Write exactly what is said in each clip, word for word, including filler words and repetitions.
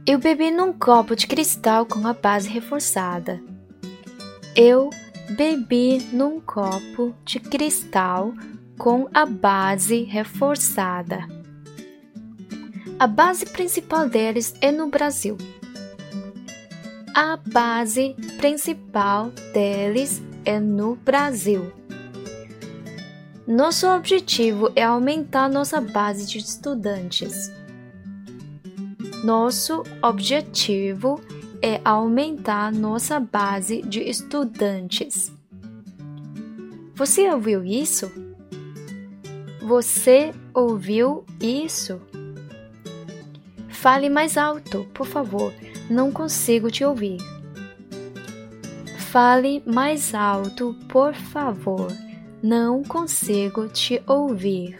Eu bebi num copo de cristal com a base reforçada. Eu bebi num copo de cristal com a base reforçada. A base principal deles é no Brasil. A base principal deles é no Brasil. Nosso objetivo é aumentar nossa base de estudantes. Nosso objetivo é aumentar nossa base de estudantes. Você ouviu isso? Você ouviu isso? Fale mais alto, por favor. Não consigo te ouvir. Fale mais alto, por favor. Não consigo te ouvir.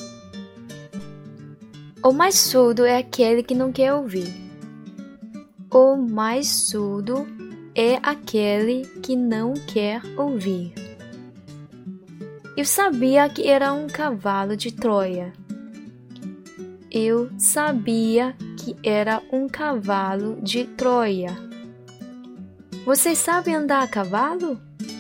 O mais surdo é aquele que não quer ouvir. O mais surdo é aquele que não quer ouvir. Eu sabia que era um cavalo de Troia. Eu sabia que era um cavalo de Troia. Você sabe andar a cavalo?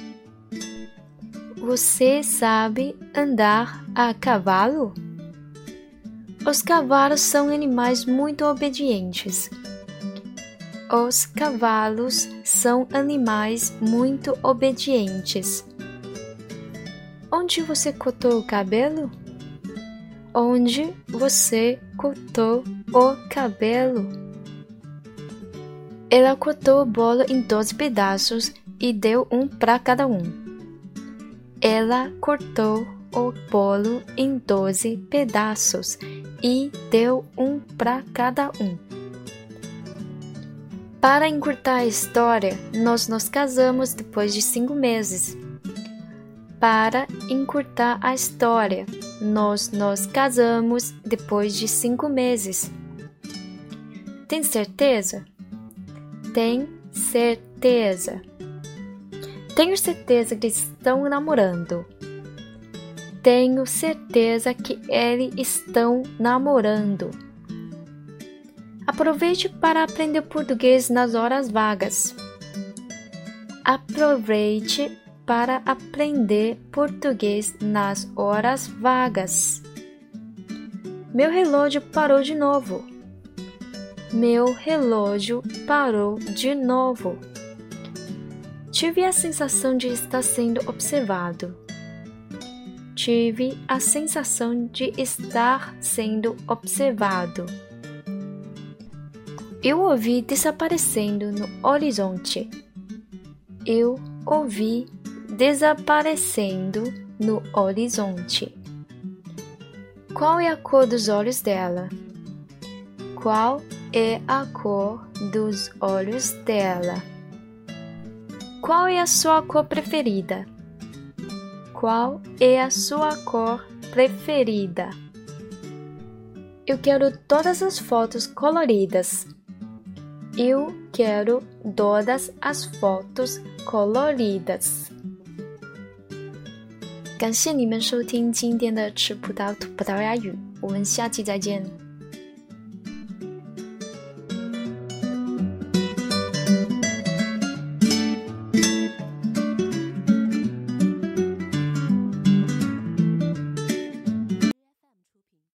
Você sabe andar a cavalo? Os cavalos são animais muito obedientes. Os cavalos são animais muito obedientes. Onde você cortou o cabelo? Onde você cortou o cabelo? Ela cortou o bolo em doze pedaços e deu um para cada um. Ela cortou o bolo em doze pedaços e deu um para cada um. Para encurtar a história, nós nos casamos depois de cinco meses. Para encurtar a história, nós nos casamos depois de cinco meses. Tem certeza? Tem certeza. Tenho certeza que estão namorando. Tenho certeza que eles estão namorando. Aproveite para aprender português nas horas vagas. Aproveite para aprender português nas horas vagas. Meu relógio parou de novo. Meu relógio parou de novo. Tive a sensação de estar sendo observado. Tive a sensação de estar sendo observado. Eu ouvi desaparecendo no horizonte. Eu ouvi desaparecendo no horizonte. Qual é a cor dos olhos dela? Qual é a cor dos olhos dela? Qual é a sua cor preferida? Qual é a sua cor preferida? Eu quero todas as fotos coloridas. Eu quero todas as fotos coloridas. 感谢你们收听今天的吃葡萄吐葡萄牙语，我们下期再见。